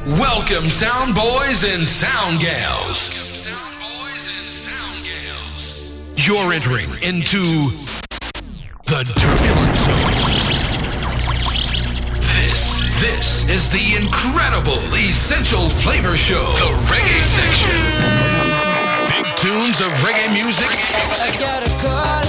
Welcome, sound boys and sound gals. You're entering into the Turbulent Zone. This is the incredible Essential Flavor Show, the reggae section. Big tunes of reggae music. I got a call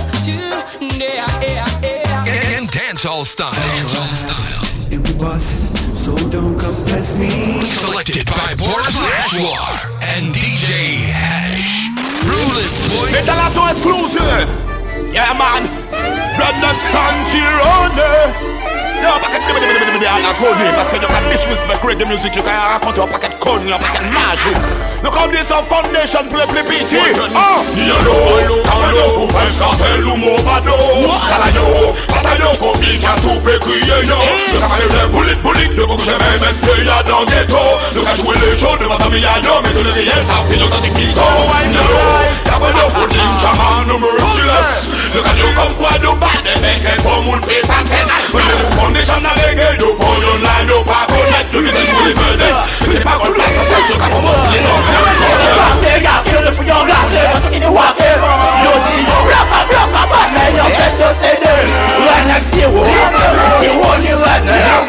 and dancehall style. It wasn't, so don't compress me. Selected by Boris Ashwar and DJ Hash. Ruling boy. Metalazo exclusive. Yeah, man. Brandon Santirone. Yo, back at the code name. Parce que you can disrespect reggae music. You can raconter un paquet de connes, un paquet de magie. Look how this our foundation pour les plus petits. Yolo, Kamano, pour faire sortir l'humour bado. Salayo, bataillon, pour qui a tout fait crier yo. Le camarade de bullet, de beaucoup jamais mettre là dans le ghetto. Le cas jouer les shows de ma famille à yo, mais tout le réel, ça fait l'authentique piso. Yolo, Kamano, pour ninja man, no merciless. Le cas yo comme quoi, no bad, mais pour mon pay paquet. Foundation à reggae, no pour online, no pas connect. Le message pour les vedettes. C'est pas qu'on place, c'est sûr qu'à mon mot, c'est les hommes. Kill the for your glass, in the water. You see your rock, man, you get to say there. Right next to you, you won't you run.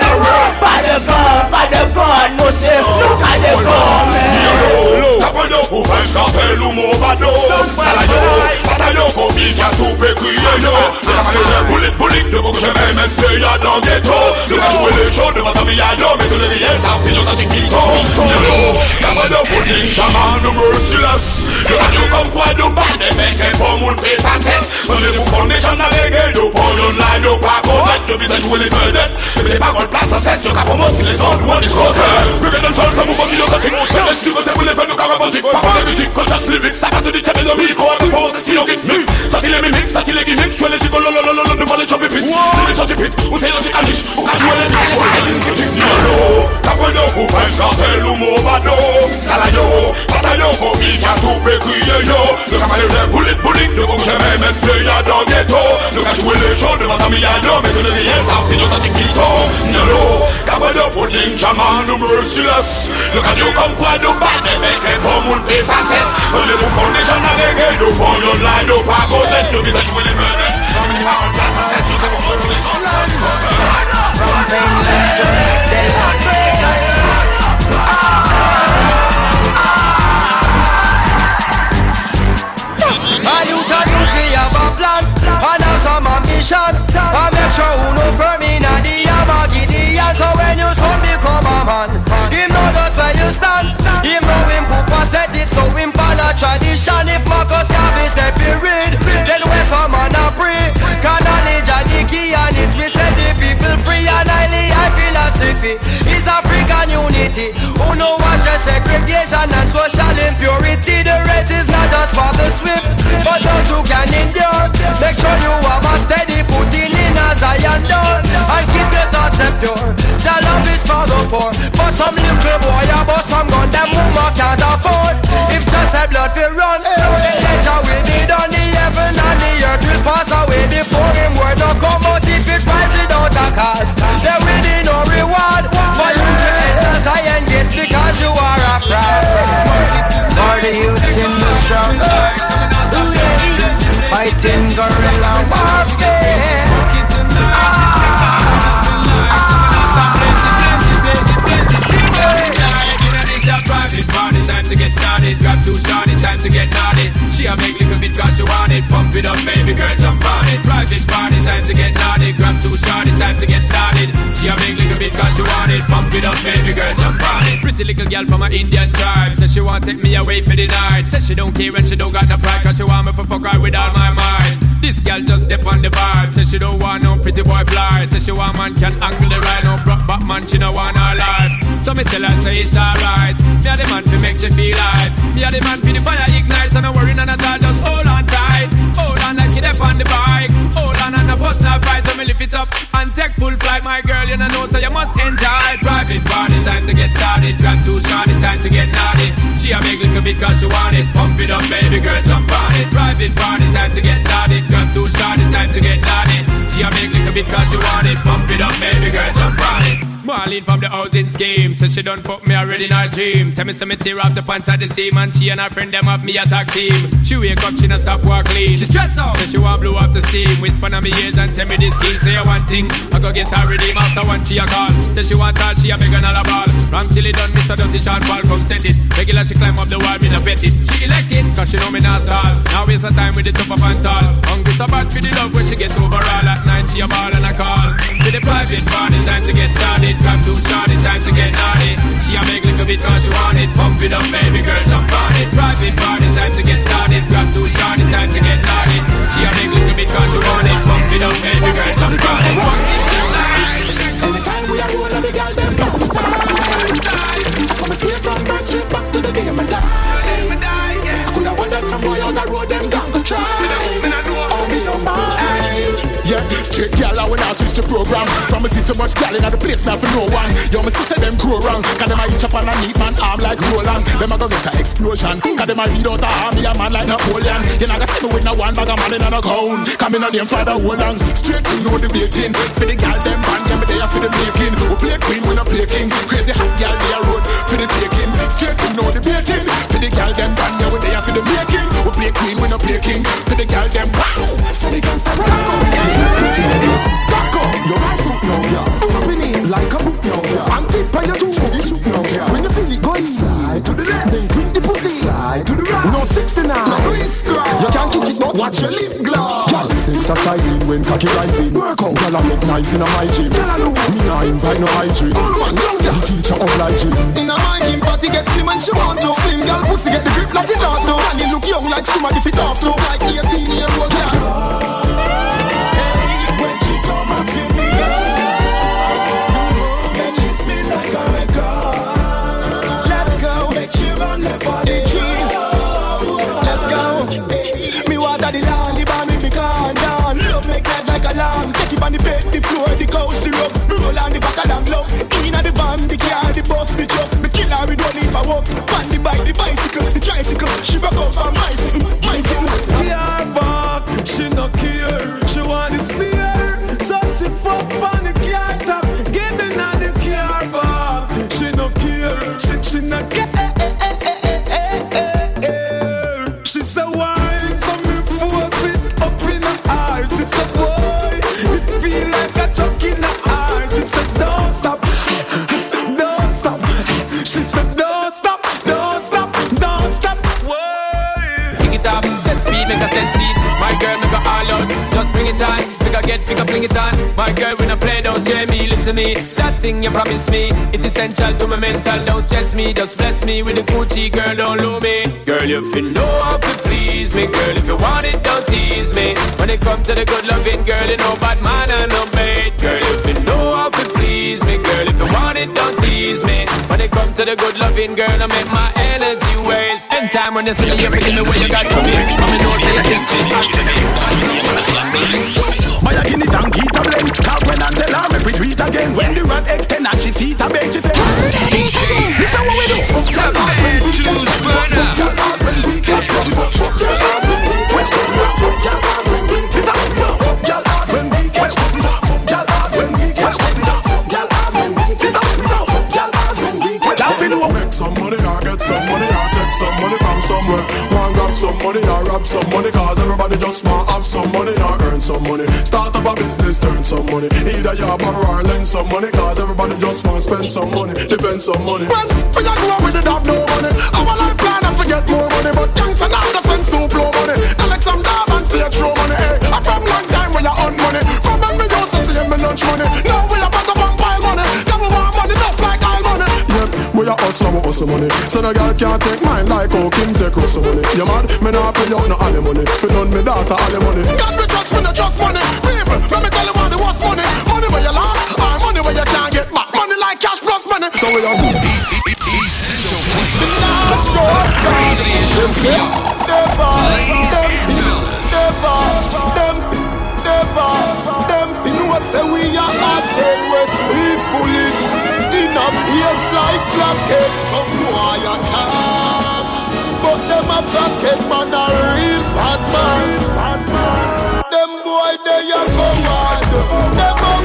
By the gun, no say, look at the gun, man. Tapando pour faire chanter l'humour bado. Salayo, bataillon, pour qui a tout fait crier yo. Le camarade de bullet, de beaucoup jamais même fait y'a dans le ghetto. Le cas jouer les shows de ma famille à yo, mais tout le réel, ça fait l'authentique pico. Tapando pour ninja man, no merciless. Le radio comme quoi nous bat des mecs et pour mon pay paquet. Prenez-vous foundation à reggae, nous pour l'online, nous pas connect. Le visage jouer les vedettes. C'est pas qu'on place en tête, sur qu'à pour moi, si les autres, nous on discote. Reggae dans le sol, ça nous manque d'innovatique. Reggae si vous savez les faire, nous caravantique. Pas pour les musiques, conscious lyrics. Ça part du tchèque de micro, on propose si on gimmick. Sorti les mimics, sorti les gimmicks. Jouer les chicos, lololololo, nous voler choper pit. Les sorties pit, ou c'est l'antique aniche. Ou qu'à jouer les musiques. Yolo, tapendo pour faire chanter l'humour bado. Salayo, bataillon, pour qui a tout fait crier yo. Le camarade de bullet, de beaucoup jamais mettre là dans le ghetto. Le cas jouer les shows de ma famille à yo, mais tout le réel, ça fait l'authentique pico. Yolo, Kamano pour ninja man, no merciless. Le cadio comme quoi nous bat des mecs et pour mon pay paquet. Prenez-vous foundation à reggae, nous pour l'online, nous pas connect. Nous visage jouer les vedettes. C'est pas en place, c'est sûr qu'à mon mot, tous les autres. From Finland to have a plan and have some ambition. I make sure who know firm in the Yamagidian. So when you son become a man, him know just where you stand. Him know him Papa said it, so him follow tradition. If Marcus Garvey step you read, then where some man a pray. Can knowledge a the key and it we set the people free. And highly high philosophy is African unity. Who know what just segregation and social impurity. The race is not just for the swift, but those who can endure. Make sure you have a steady footing in a Zion door. And keep the thoughts pure. Your love is for the poor. But some little boy about some gun them woman can't afford. If just have blood to run, the ledger will be done. The heaven and the earth will pass away before him word no come out. If it rise without a cost, there will be no reward for you to enter Zion gates because you are a fraud. For the youth in the struggle, fighting guerrilla warfare. Private party, time to get started. Grab too short, time to get naughty. She a make little bit cause she want it. Pump it up, baby girl, jump on it. Private party, time to get naughty. Grab too short, time to get started. She a make little bit cause she want it. Pump it up, baby girl, jump on it. Pretty little girl from a Indian tribe. Says she want take me away for the night. Says she don't care and she don't got no pride. Cause she want me for fuck her with all my mind. This girl just step on the vibe. Says she don't want no pretty boy fly. Says she want man can angle the ride. No broke back man, she don't want her life. So me tell her say it's alright. Me a the man to make you feel like. Me a the man for the fire ignite. So no worry none at all, just hold on tight. Hold on like you dep on the bike. Hold on and the bus not fight. So me lift it up and take full flight. My girl you know so you must enjoy. Private party time to get started. Grab too short, time to get naughty. She a make little bit cause she want it. Pump it up baby girl, jump on it. Private party time to get started. Grab too short, time to get started. She a make little bit cause she want it. Pump it up baby girl, jump on it. Marlene from the housing scheme. Said she done fuck me already in her dream. Tell me some tear off the pants at the seam. And she and her friend them have me attack team. She wake up, she not stop walk clean. She stress out, said she want blow off the steam. Whisper on me ears and tell me this king. Say one thing, I go get her redeem after one she a call. Say she want all, she a beg and all a ball. Wrong till it done, Mr. Dirty Sean Paul come set it. Regular she climb up the wall, me no bet it. She elect it, cause she know me not stall. Now waste her time with the top up and tall. Hungry so bad for the love when she gets overall. At night she a ball and a call. To the private party, time to get started. Grab too short, it's time to get naughty. She a make little bit cause she want it. Pump it up baby girl, jump on it. Private party, time to get started. Grab too short, it's time to get naughty. She a make little bit cause she want it. Pump it up baby girl, jump on it. Anytime we are rolling, the girl them outside. So me straight from Bird Street back to the day me die. I coulda wondered some boy out the road them got to try. Oh me no mind. Yeah, straight gal I when I switch the program. From me see so much gal in the place now for no one. Yo me sister them grow wrong. Cause them a each up on a neat man arm like Roland. Them a go get a explosion. Cause them a lead out a army a man like Napoleon. You not gonna see me with no one bag of man in a gown. Come in on them for the whole long. Straight to know the waiting. For the gal them band, yeah me there for the making. We play queen, we not play king. Crazy hot gal they a road for the taking. Straight to know the waiting. For the gal them band, yeah we there for the making. We play queen, we not play king. For the gal them wow. So they can't stop. Back up, your right foot now, yeah. Open it like a book now, yeah. And tip on your 2 foot, you shoot now, yeah. When you feel it going, slide to the left. Then bring the pussy, slide to the right. No 69, no wristguard. You can't kiss it, but watch your lip gloss. Girls exercising when cocky rising. Work out, girl I look nice in a my gym. Girl I look, me nah invite no hygiene. All one, down there. The teacher obliging. In a my gym, party get slim and she want to. Slim girl pussy get the grip like it ought to. And he look young like somebody fit up to. Like 18-year-old girl. Let's go. Me water the land, the bar make me calm down. Love make life like a lamb. Take it on the bed, the floor, the couch, the rug. Roll on the back of them love. In the van, the car, the bus, the truck. The killer, we don't need my work. On the bike, the bicycle, the tricycle. She back up for my sitting, my sitting. Car back, she no care. She want the spear, so she fuck on the car top. Give me now the car back. She no care, she no care. She's a wine, so me force it up in her heart. She's a boy, it feel like a chuck in her heart. She said don't stop, I said don't stop. She said don't stop, don't stop, don't stop. Why? Pick it up, set speed, make a set speed. My girl, make her all out, just bring it on. Pick a get, pick a fling it on. My girl, when I play, don't share me, listen me. That thing you promised me, it's essential to my mental. Don't stress me, just bless me with the Gucci, girl, don't lose me. Girl, if you know how to please me, girl, if you want it, don't tease me. When it comes to the good loving, girl, you know bad man and no bait. Girl, if you know how to please me, girl, if you want it, don't tease me. When it comes to the good loving, girl, I make my energy waste. And time when you see me, you're feeling the way you got to me. I'm in no say you think it's hot to me. My guinea and keep a blend. Cause when I tell her, make we do it again. When the rod extend and she feet a beg, she say DJ, this is what we do. the man choose burner. When we catch when we catch make some money or get some money or take some money from somewhere. Want grab some money or rob some money. Cause everybody just want have some money or earn some money. Start up a business, turn some money. Either you borrow or lend some money. Cause everybody just want spend some money, defend some money. Well, for you go with it have no money. Our life plan and forget more money. But thanks and all the spend no blow money. Alex some dab and see a throw money. Hey, I'm from long time when you earn money. From when we used to see me lunch money. Now we are back up and pile money. Now we want money just like all money. Yep, we are hustle money. So the girl can't take mine like how Kim take hustle money. You mad? Me not pay out no all money. For none me daughter all money. Got me trust when you trust money. People, let me tell you what the worst money. Money where you lost, or money where you can't get back. Money like cash plus money. So we are Essential you know say we are hot tail we squeeze bullet in a face like blackhead. Some boy attack, but them a blackhead man a real bad man. Them boy they a go hard, them a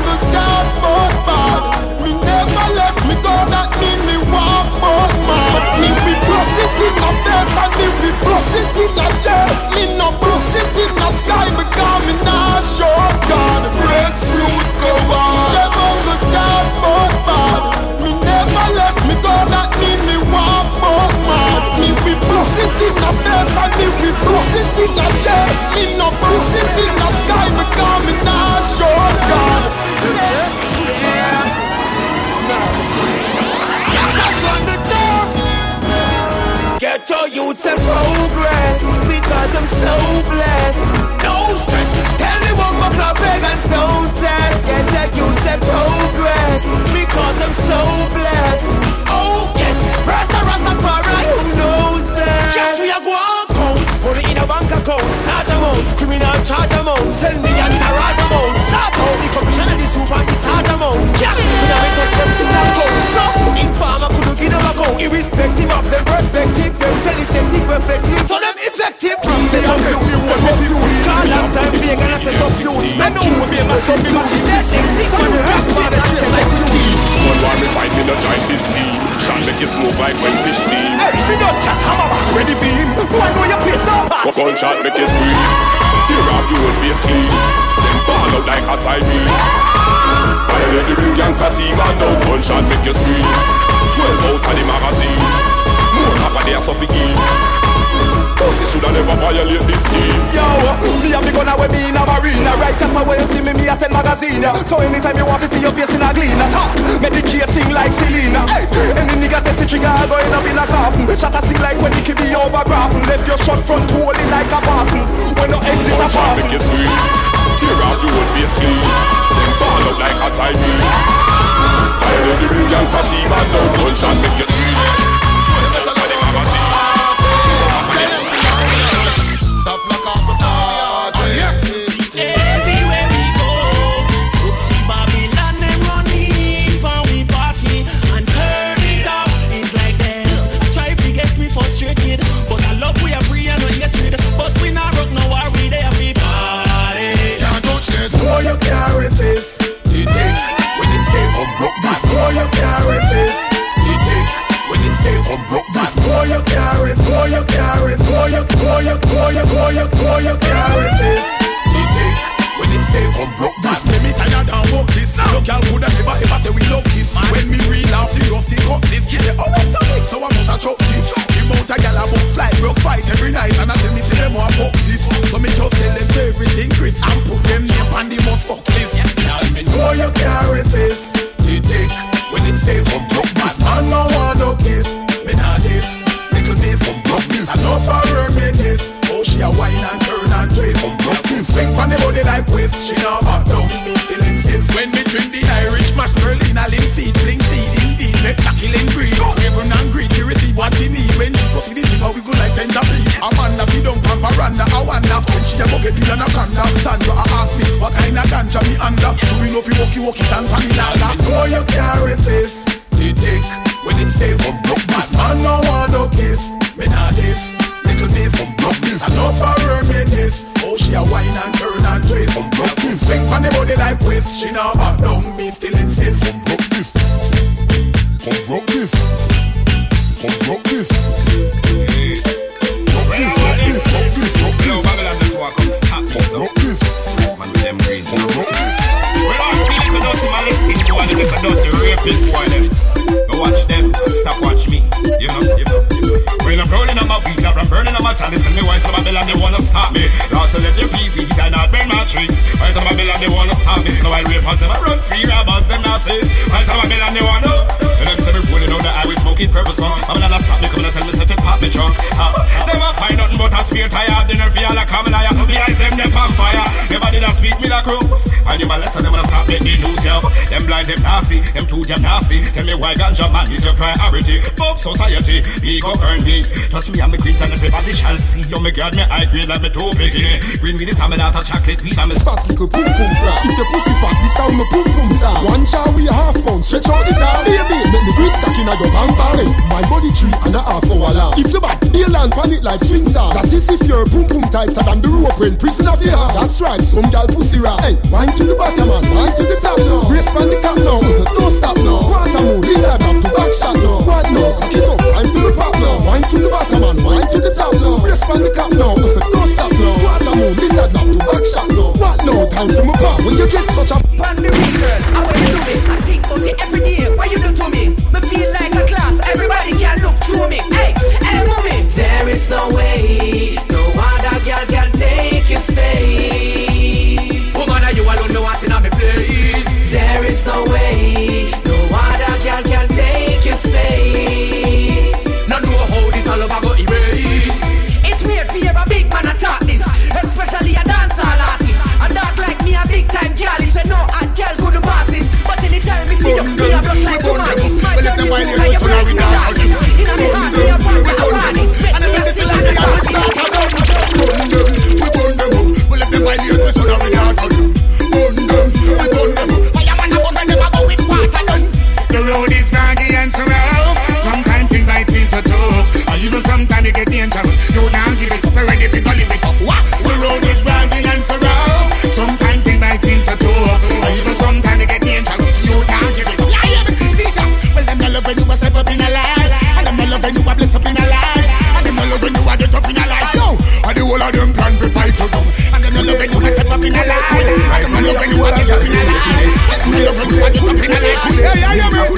in the face and me we bust it in the chest. Me no bust it in the sky because me not sure God. Get to youths and progress because I'm so blessed. No stress. Tell me what my club pagans don't test. Get to youths and progress because I'm so blessed. Oh yes, first a Rastafari who knows best. Cash we a go on count, money in a bank account, large amount, criminal charge amount, send me entourage amount. Start out the commission and the super and the sarge amount. Cash me a make up them sit and count. So informer could give them a count, irrespective of them perspective. Them teletactic reflexes, so them effective. From the youth, call up time being and I set up youth. I know we be my son, be my shit. That's next thing when the rest of the chest like whiskey. One war me fight me no join this team. Shall make you smoke like when fish steam. Hey, me not chat, hammer back, ready for him. Who I know your place now pass. One shot make you scream. Tear off your own face clean. Then ball out like a siren. Violate the real gangster team and now one shot make you scream. 12 out of the magazine. More papa there so begin. Pussy shoulda never violate this team. Yo, me a big gun away me in a marina. Right as away you see me attend magazine. So anytime you want to see your face in a glean, talk, make the case sing like Selena. Hey, any nigga test the trigger going up in a coffin. Shot a sing like when the kid be over graphing. Left your shot front holy like a Boston. When no exit a pass. Make you scream. Tear off your own face clean. Then ball out like a siren. Violate the real gangster team and now one shot make you scream. 12 out of the magazine. Stop like off the party. Everywhere we go, Oopsie Babylon them running for we party and turn it up. It's like them try to get me frustrated, but I love we are free and we get rid. But we not rock no worry, they every party. Can't touch this. Boy, you carry this. You take when it's safe from broke this. Boy, you carry this. You take when it's safe from broke this. Boy, you carry. Boy, you carry. Boy, you carry this. You take when it's safe from broke this. Let me tired and walk this. No girl could ever say we love this. When me reel off the rusty cut this, kid they always tell me. So I must have choke this. The mount a gal a book fly, broke fight every night, and I tell me say them want fuck this. So me just tell them everything Chris and put them name on the must fuck list. Boy, you carry this. You take when it's safe from broke this. Man no want no kiss. Me not this. Little this from broke this. I love her me this. Oh she a wine and turn and twist from broke this. Swing from the body like whiz. She not back down. Me still insist. When me drink the Irish mash Berlin a limp seed. Fling seed indeed. Make tackle and green. Craven and greed. She receive what she need. When she go see the tip we go like tender beat. Amanda fi down pan veranda. I wonder when she a go get the anaconda. Sandra a ask me what kind of ganja me under. So we know fi walkie stand pan in all. Boy you carry this. You take when it's safe from broke this. Man no want no kiss. Me not this. Little this from broke this. I love her me this. Oh she a wine and turn and twist from broke this. Swing from the body like whiz. She now back down. Me still insist from broke this. From broke this. From broke this. Watch them and stop watch me. You know. When I'm burning on my beat, I'm burning on my chalice. Tell me why some Babylon they wanna stop me. Not to let the people and not burn my tricks. Why some Babylon they wanna stop me. So while rappers them I run free robbers them Nazis. Why some Babylon they wanna. Tell them say me pulling on the highway smoking purpose on. Babylon a stop me coming and tell me say it pop me trunk. Never find nothing but a spear tire. The nerve all a common liar. Me eyes them on fire. Never did I speak me like ropes. While you my lesson them wanna stop me the news yo. Them blind them nasty. Them two them nasty. Tell me why ganja man is your priority. Both society, me govern me. Touch me and me queen and everybody shall see. You me guard me high grade like me toe picking. Green with the tamina to chocolate weed and me fat little pum pum flat. If the pussy fat, this sound me pum pum sound. One jar we a half pound, stretch out the tar. Baby, make me grease stack in a your bang bang. My body 3.5 hour long. If you back, they land pan it like swing star. That is if you're pum pum tighter than the rope when prison of your heart. That's right, some gal pussy rap. Hey, wine to the bottom man, wine to the top now. Brace pan the top now, don't stop now. Quarter move, this side up to back shot now. What now? Cock it up, wine to the pop now. Wine to the bottom man, wine to the top now. Brace pan the cap now, don't stop now. Quarter move, this side up to back shot now. What now? Time for my pop. When you get such a pan the real girl, how will you do it? I think about it every day. What you do to me? Me feel like a class. Everybody can look through me. Hey, mommy. There is no way just like burn them tomatis. up. We let them violate us, so now we not argue. In the heart, we are born to harness. And if this is like the army start, I don't burn them. We burn them up. We let them violate us, so now we not argue. Burn them, we burn them up. Fireman a burn them, I go with water done. The road is foggy and so rough. Sometimes things might seem so tough, or even sometimes it get dangerous. You don't give it up, you're ready to live it up. What? The road is foggy and so rough. Sometimes things might seem so tough, or even sometimes it get dangerous. You don't give it up. Yeah, yeah, see that? Well, them not love when you a step up in a life, and them not love when you a bless up in a life, and them not love when you a get up in a life. No, and the whole of them plan to fight you down, and them not love when you a step up in a life, and them not love when you a bless up in a life, and them not love when you a get up in a life. Yeah, yeah, yeah, man.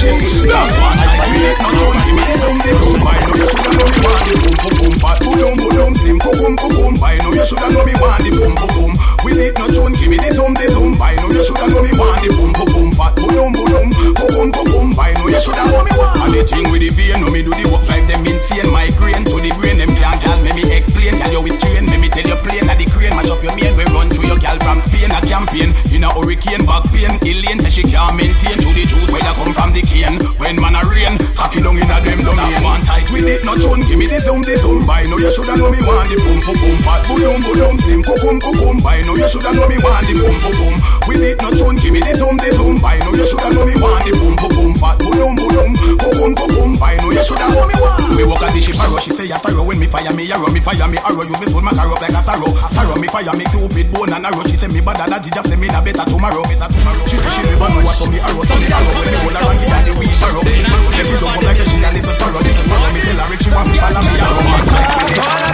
You shoulda know me want the boom boom boom. We did not tune, give me the zoom by. No, you shoulda know me want the boom boom boom. Fat boom boom boom boom by. No, you shoulda know me want. And the thing with the vein, no me do the work drive them insane. Migraine to the brain, them can't gal. Let me explain, gal you with train. Let me tell you plain that the crane mash up your main. We run through your gal from Spain. A campaign in a hurricane, back pain. Elaine say she can't maintain. To the juice where they come from the cane. When man a rain, cocky down in a them domain. One tight with it, not tune, give me the zoom by. No, you shoulda know me want the boom boom boom. Fat boom slim boom by. No, you shoulda know me want the boom boom. We did not tune, give me the zoom by. No, you shoulda know me want the boom boom. Fat boom by. No, you shoulda know me want. We walk at the ship arrow, she say a pharaoh. When me fire me arrow, you me soul my car up like a pharaoh. Pharaoh me fire me cupid bone and arrow. She say me bad and a just say me na better tomorrow. She never know what me arrow, so me arrow. When me hold her and give her the wee arrow. Let she jump up like a she a little sparrow. Little sparrow me tell her if she want me follow me arrow. Man like me.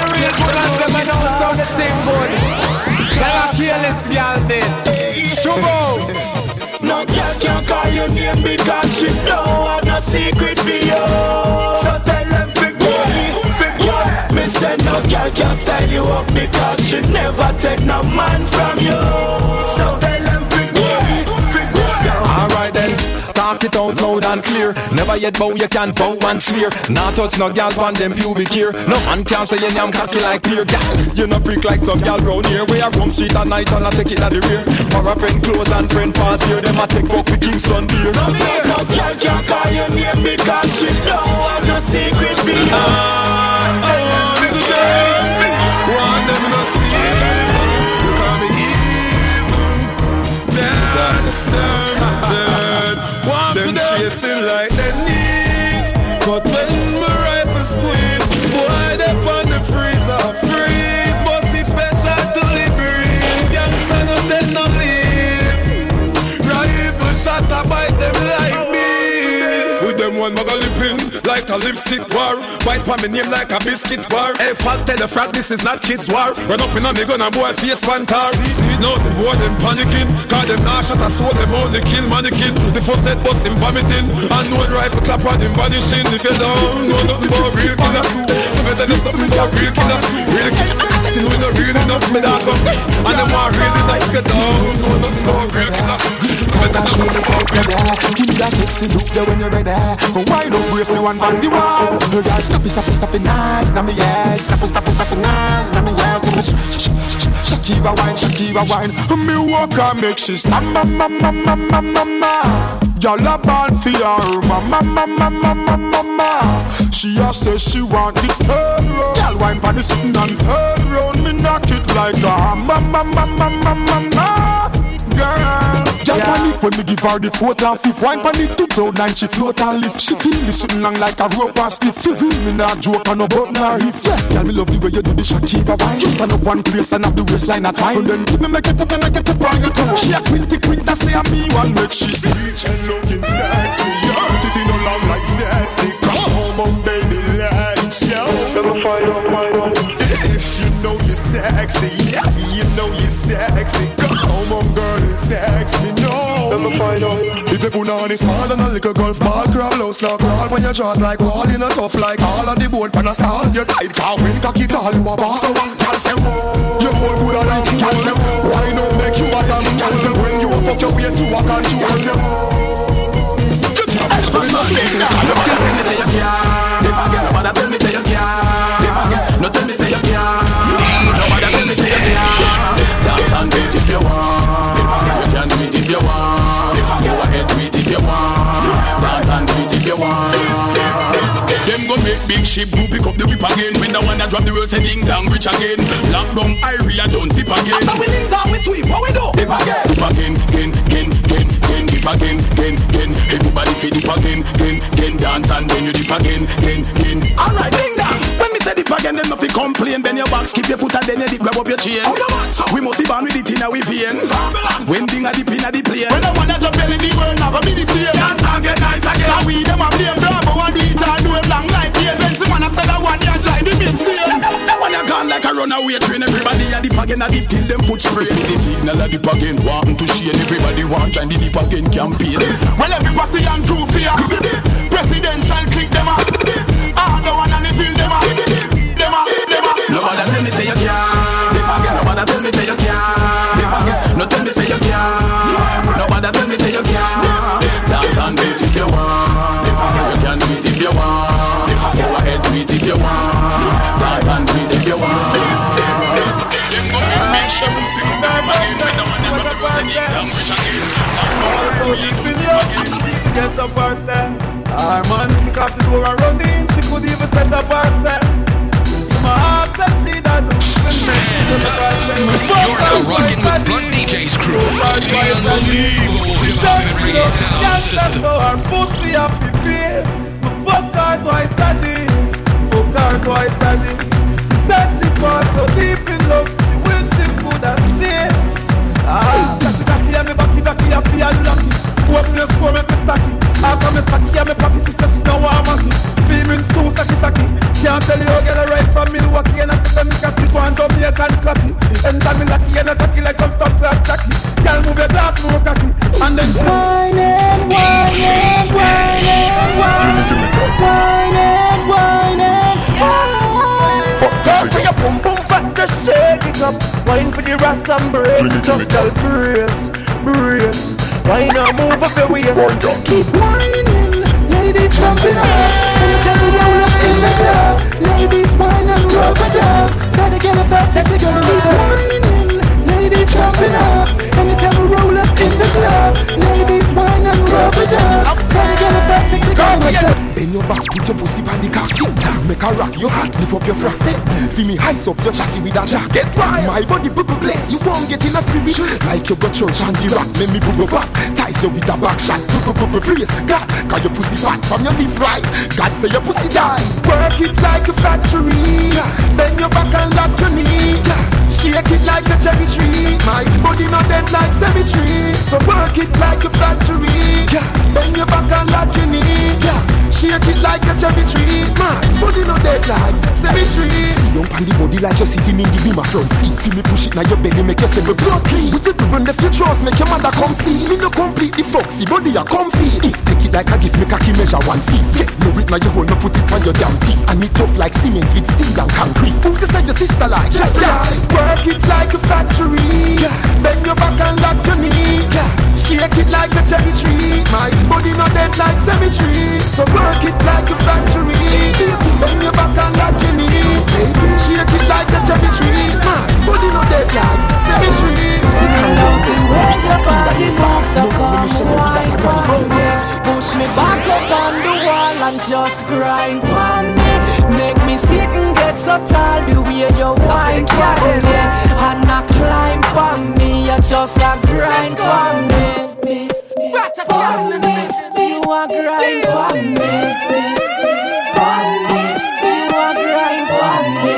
The thing good. Tell a fearless girl this. Shubo. No girl can call your name because she don't have no secret for you. So tell them figure. Me say no girl can style you up because she never take no man from you. So tell them figure. Alright then. Talk it out loud and clear. Never yet bow, you can vow and swear. Not touch no girls on them pubic here. No man can say your name cocky like clear. Gal, you no freak like some gal round here. Where I come street at night and I take it at the rear. For a friend close and friend pass here. Them a take fuck for Kingston beer. No girl can call your name because she don't have no secret for you. Want them no sleep. Call me evil. That's them chasing like their knees. But when my rifle squeeze, boy, they on the freezer. Freeze, must be special to liberate. Can't stand up, then no leave. Rifle shot, I bite them like bees. With them one muggle lipping like a lipstick war. White pa me name like a biscuit war. Hey, fat tell the frat this is not kids war. Run up in a me gun and boy face pantar. See now the boy them panicking. Cause them nah shot a soul them only kill mannequin. The first head bust him vomiting. And no rifle clap on him vanishing. If you don't know nothing about real killer, you better do something about real killer. Real killer, we no real enough me dance up. And them want really nice get down. Know nothing about real killer. Show me something there. Give me that sexy look there when you're ready. But why don't we see one on the wall? The girl stop it nice. Now me yeah. Stop it nice. Now me yeah. Shakira wine. Me walk and make she stop. Mama. Y'all a born for her. Mama. She a say she want it turn round. Y'all wine pon the sitting and turn round. Me knock it like a mama. Girl, just panic when me give her the fourth and fifth. Wine panic to cloud nine, she float and lift. She feel me sitting long like a rope and stiff. She feel me not joke and no button or hip. Yes, girl, me love the way you do the Shakira wine. Just stand up one place and have the waistline at mine. And then tip me make it up on your toe. She a quinty say a me one make she speech and looking sexy. Your titty no long like zesty. Come home on baby, let's show. Never fight on. If you know you're sexy, yeah, you know you're sexy. Come on girl and sex me, no. Never fight on. If you put on is small than a little golf ball, crawl low, now crawl when your jaws like wall in a tough like all of the board pan a stall. You tight car when cocky tall, you a boss. So one can say you hold good and like you say why not make you bottom? Can say when you fuck your waist you a control. You can't find no space in the car. If I get nobody tell me say you can't. If I get no tell me say you can't. Nobody tell me say you can't. Dance and do it if you want. If I get you can do it if you want. Go ahead do it if you want. ship do pick up the whip again. When the one that drop the world say ding dong rich again. Lockdown area don't tip again. After we ding dong we sweep, what we do? Dip again. Dip again, dip again. Everybody feel dip again, dance and then you dip again. Alright, ding dong. When me say dip again, them nothing complain. Then your back skip your foot and then you dip, grab up your chain. We must be born with it in our veins. When ding a dip in a the plane. When the one that drop belly, the world never be the same. Dance and get nice again. Now we them a blame Bravo and do it and do it long like pain. When someone a say that one you try the mid-sale. That one you gone like a runaway train. Everybody a dip again, a dip till them put spray. The signal a dip again, want to share. Everybody want join the dip again campaign. Well every posse and crew fear. Presidential click them up. All the one and the feel them up. Nobody tell me say you can't. Nobody tell me say you can't. No tell me say you can't. Nobody tell me say you can't. Dance and beat if you want. You can do it if you want. Go ahead, do it if you want. Dance and beat if you want. Them go make sure we pick up them again. When the one that got the road to get down, rich again. Get up herself. Our man kick off the door and run in. She could even set up herself. My heart says she that do. You're now rocking with Blunt DJ's crew. Reggae sound system. So her pussy up prepare. Fuck her twice a day. Fuck her twice a day. She says she falls so deep in love. She wish she could have stayed. She got me and me backy, I feel lucky. Open your store, make me stacky. After me stacky and me pocky, she says she don't want monkey. Feelings too sacky. Can't tell you how get it right from Milwaukee. And I said them cat this one Jamaican cocky. And tell me lucky and I tacky like some top class tacky. Can't move your glass, more cocky. And then she whining. Fuck for your boom boom fat, just shake it up. Wine for the ras and brace it up, girl, brace. Why not move up your waist? Keep whining, ladies jumping up. And you tell me roll up in the club. Ladies whine and rub it up. Gotta get a fat sexy girl. Keep whining, ladies jumping up. And you tell me roll up in the club. Ladies whine and rub it up. Gotta get a fat sexy girl. Bend your back, put your pussy on the cock. Make a rock your heart, lift up your thrust. Feel me ice up your chassis with a jacket. My body bubble bless, you won't get in a spirit. Like you got church and the rock, make me bubble back. Ties you with a back shot, praise God. Cause your pussy fat from your live right. God say your pussy dies. Work it like a factory. Bend your back and lock your knee. Shake it like a cherry tree. My body not dead like cemetery. So work it like a factory. Bend your back and lock your knee. Shake it like a cherry tree. My body not dead like cemetery. See you on the body like you're sitting in the beam of front seat. See me push it now your belly make yourself a blood clean. With it to run the futures make your mother come see. Me no complete the foxy body a comfy. Take it like a gift make a key measure 1 feet. Yeah, no it now you hold no put it on your damn teeth. And it tough like cement with steel and concrete. Put this like your sister like Jeffrey. Work it like a factory. Bend your back and lock your knee. Shake it like a cherry tree. My body not dead like cemetery. So work it like a factory. Bend your back and lock your knee. Shake it like a cherry tree. My body not dead like cemetery. Love the way your body moves, so come wine on me. Push me back up on the wall and just grind on me. Make me sit and get so tall the way you wine on me. And not climb on me, you just a grind on me. On me, you a grind on me. On me, you a grind on me.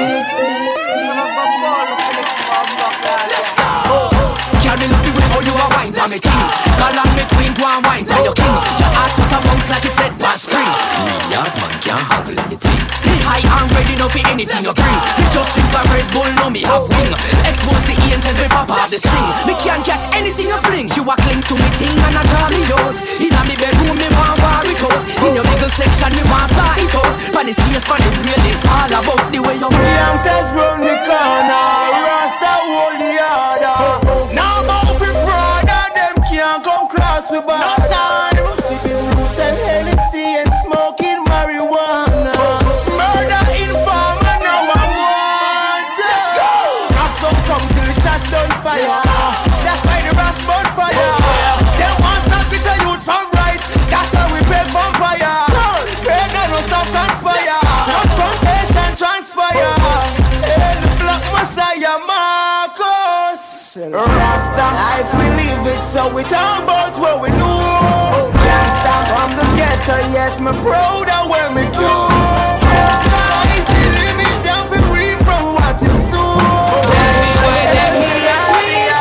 Let's go. Can me love the way how you a wine for me king. Call on me queen, go and wine for your king. Your ass was a bounce like it said last spring. Real yard man can't handle anything. Me high and ready now for anything you bring. Me just drink a Red Bull, now me have wing. Expose the angel, me pop off the string. Me can't catch anything you fling. You a cling to me thing and I draw me out. Inna me bedroom, me want war it out. In your middle section, me want saw it out. Pan the stage, pan the railing, all about the way you. The youngsters run the corner, Rasta hold the order. Now about we brother, them can't come cross the bar. No time, sipping roots and Hennessy and smoking marijuana. Murder informer, now I'm want. Let's go. Have some come till the shots done fire. That's why the rap burn fire. Them want stop with the youth from rise. That's why we pay from fire. Pay no stop conspire. Not from it, so we talk about what we know. Gangsta from the ghetto, yes, me proud of where me go. Sky is the limit, don't be free from what you sow. Tell me why them here we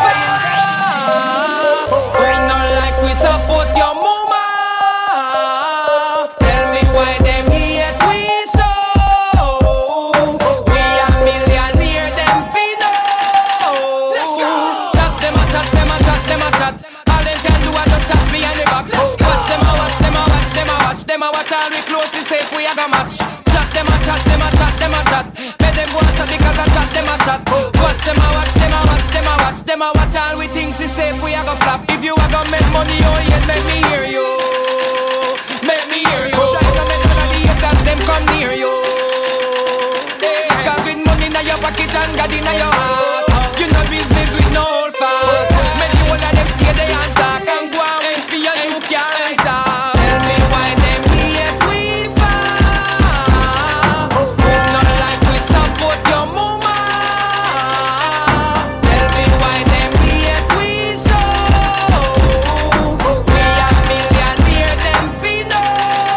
fight. We're not like we support your mama. Tell me why them here we so. We are millionaire, them feed us. Chat them a chat, them a chat, them a chat. All them can do is just chat behind the back. Watch them a watch, them a watch, them a watch, them a watch. All we close is safe, we a go match. Chat them a chat, them a chat, them a chat. Let them go and chat because I chat, them a chat. Watch them a watch, them a watch, them a watch, them a watch. All we think is safe, we a go flap. If you a go make money, oh yes, let me hear you. Make me hear you. Try to make none of the haters them come near you. Cause with money in your pocket and God in your heart, you know business with no old fat. Many one of them stay there and talk and go and wait for your new car right off. Tell me why them hate we fight. Not like we support your mama. Tell me why them hate we so. We are millionaire, them feed us.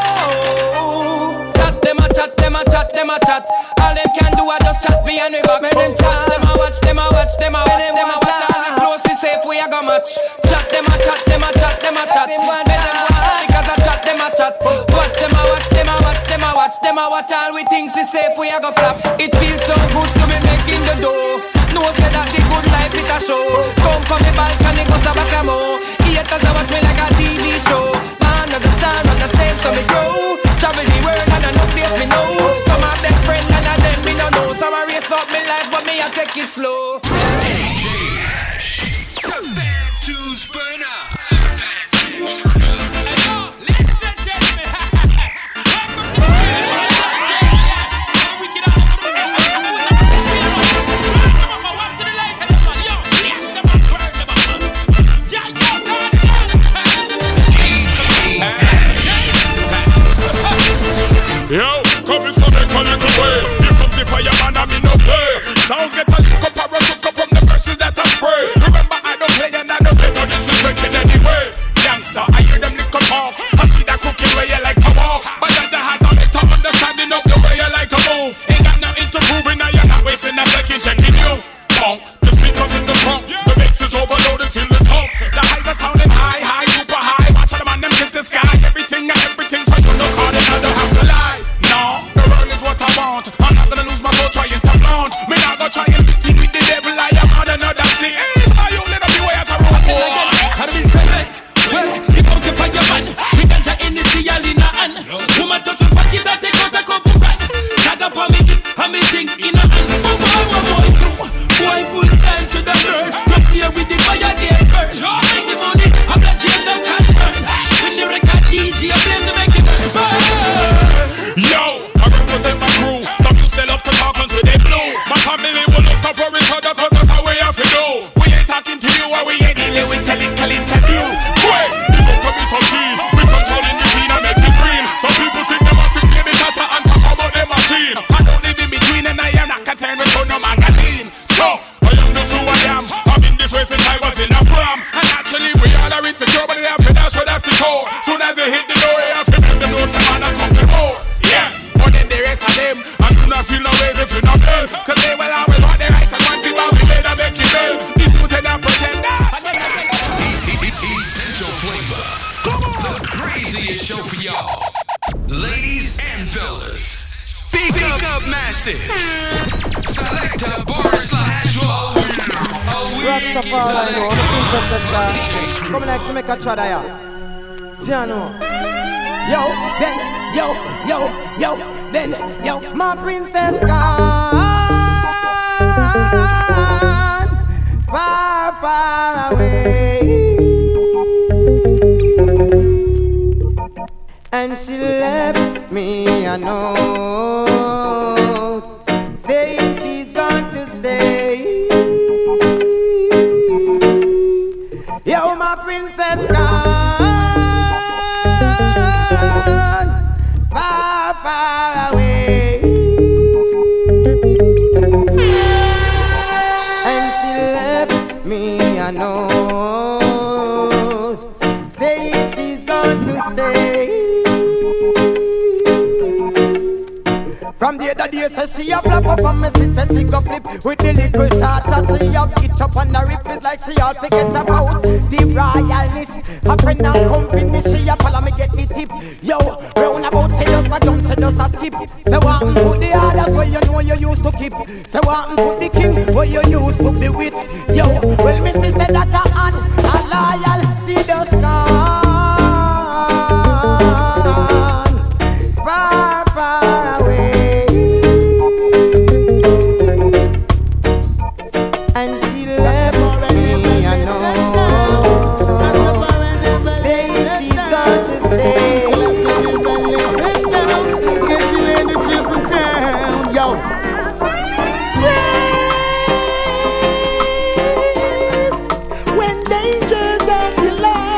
Chat them a chat, them a chat, them a chat. All them can do is just chat behind me back. Make them chat, them a watch, them a watch, them a watch, them a watch. All we close is safe, we a go match. Chat them a chat, them a chat, them a chat. Make them watch because I chat, them a chat. Watch them a watch, them a watch, them a watch, them a watch. All we think is safe, we a go flap. It feels so good to be making the dough. No say that the good life it a show. Come from the balcony, go to back more. Haters a watch me like a TV show. Man as a star on the same, so me grow. Travel the world and I know place me know. Some of them friends and of them me no know. Some a race up me life but me a take it slow. Yo, come in so they call it away. You come the fireman and me no play. Sound get a lick up or a look up from the verses that I spray. Remember I don't play and I don't play no disrespect in any way. Gangsta, I hear them lick up talk. I see that cooking way you like to walk. But Jaja has a better understanding of the way you like to move. Ain't got nothing to prove and now you're not wasting a second checking you. Bonk, the speakers in the trunk. The mix is overloaded, feel the talk. The highs are sounding high, high, super high. Watch all the man them kiss the sky. Everything and everything, so you know call it, I don't have to lie. No, the world is what I want. I'm not gonna lose my soul trying to flaunt. Me not gonna try and fit in with the devil. I am on another scene. Are you let up the way as a robot? How do we select? Well, here comes the fireman. We ganja in the sea, all in a hand. Woman touch my pocket, I take out a couple grand. Tag up on me, and me think in a hand. Oh boy, boy, full time to the bird. Not here with the fire, get burn. Bring the money, I'm not just no concern. When the record DJ, I'm blessed to make it burn. Yo, I represent my crew. Some used to love to talk until they blue. My family will look up for each other cause that's how we have to do. We ain't talking to you or we ain't dealing with technical interview. Wait, you look to be so keen. We controlling the scene and make it green. Some people think they want to play the data and talk about their machine. I don't live in between and I am not concerned with no magazine. So, I am just who I am. I've been this way since I was in a prom. And actually we all are insecure but they have to dash right after toe. Soon as they hit the door they have to make them know some man are coming home. Yeah, but then the rest of them I do not feel no ways if you not tell. Cause they will always want the right and one thing but we later make it well. This dude and I pretend Essential Flavor, the craziest show for y'all. Ladies and fellas, big up massives. Selecta Bar/Roll. Rastafari, no, the princess star. Come next to make a chada ya. Jano. Yo, then, yo, then, yo, my princess gone far, far away. And she left me a note saying she's going to stay. Yo, my princess gone far, far away. And she left me a note From the other day, say she a flap up and me say she go flip. With the liquor shots and she a itch up on the rip. It's like she all forget about the royalness. A friend and company, she a follow me get the tip. Yo, round about say just a jump, she just a skip. Say what put the others where you know you used to keep. Say what put the king where you used to be with. Yo, well me say that a hand, a loyal, she just gone. Far, far away. And she left me alone. Saying she's going to stay. Guess you ain't the Triple Crown. Yo. When dangers of your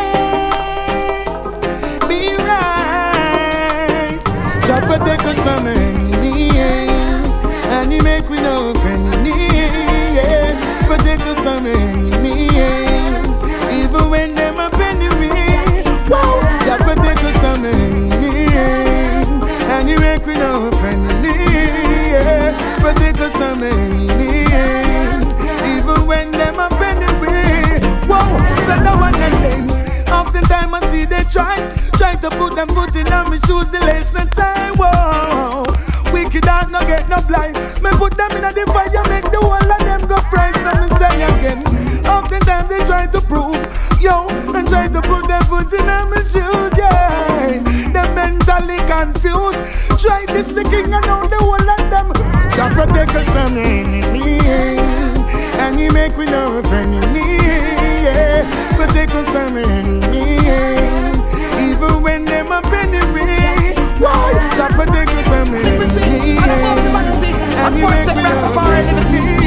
life be right, God protect us from enemy, and He make we no friendly. Protect us from enemy, even when them up enemy. God protect us from enemy, and He make we no friendly. Protect us from enemy, even when them up enemy. Whoa, so no one can say. Oftentimes I see they try to put them foot in on me shoes, the lace no time. Whoa, wicked heart no get no blind. Me put them in the fire, make the whole of them go fry. So me say again, oftentimes they try to prove, yo, and try to put their foot in on me shoes, yeah. Them mentally confused. Try this the king and now the whole of them. God protect us from the enemy, and He make we no friendly. Protect us from the enemy, even when them up enemy. God protect us from the enemy, and He make we no friendly.